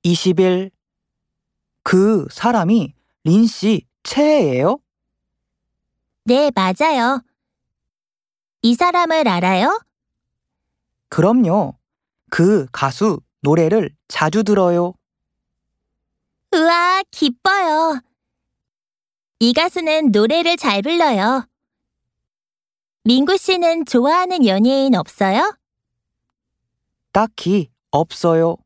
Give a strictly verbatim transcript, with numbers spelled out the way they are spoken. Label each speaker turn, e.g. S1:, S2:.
S1: 이십 일. 그 사람이 린 씨 최애예요?
S2: 네, 맞아요. 이 사람을 알아요?
S1: 그럼요. 그 가수 노래를 자주 들어요.
S2: 우와, 기뻐요. 이 가수는 노래를 잘 불러요. 민구 씨는 좋아하는 연예인 없어요?
S1: 딱히 없어요.